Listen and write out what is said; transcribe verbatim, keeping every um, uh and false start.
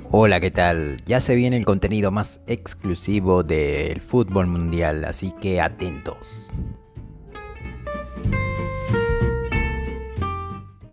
Hola, ¿qué tal? Ya se viene el contenido más exclusivo del fútbol mundial, así que atentos.